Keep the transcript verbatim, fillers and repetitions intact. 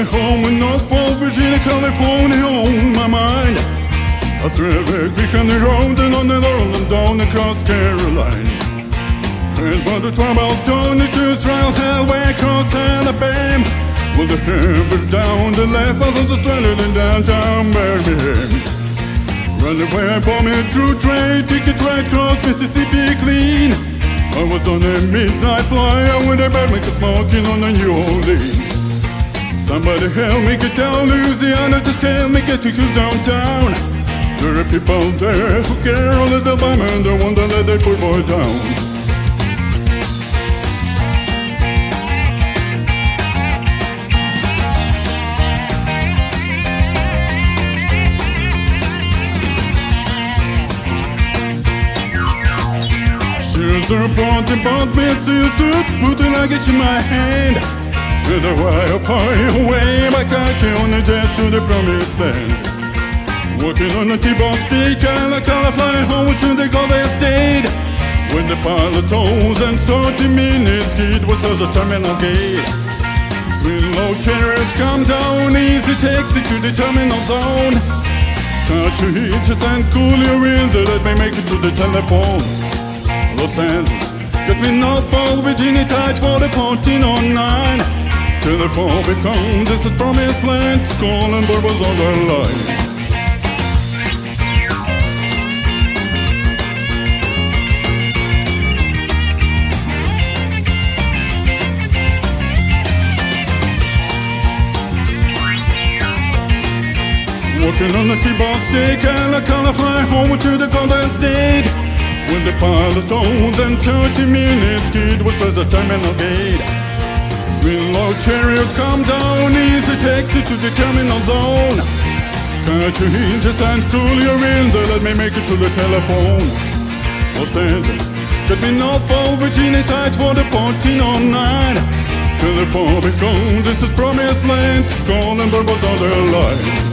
home in Norfolk, Virginia, California on my mind. I travel quick on the road and on the road and down across Carolina. And when the trouble done it to Israel, hell, way across Alabama. Well, the hammer down the left, I was on the stranded in downtown Birmingham. Run away for me through trade, ticket right across Mississippi clean. I was on a midnight flyer with a bad maker smoking on the New Orleans. Somebody help me get down Louisiana, just can't make it to who's downtown. There are people there who care a little about me and they want to let that poor boy down. She's a pointing bought me a suit, put a luggage in my hand. And a wire fly away back on a jet to the promised land. Walking on a T-bone stick, and I can't fly home to the Golden State. When the pilot told and thirty minutes, it was as a terminal gate. Swing low chariots come down, easy taxi to the terminal zone. Touch your hitches and cool your winds, let me make it to the telephone. Los Angeles, get me Norfolk, Virginia, tight for the fourteen oh nine. Telephone become, this is promised land, calling Bourbons on the line. Walking on the T-bone stick, and I can't fly home to the Golden State. When the pilot told and thirty minutes, kid was at the terminal gate. Swing low chariots come down, easy taxi to the terminal zone. Catch your hinges and cool your winds, let me make it to the telephone. Los Angeles, get me Norfolk, Virginia, tight for the fourteen oh nine. Telephone because this is promised land, calling Bourbons on the line.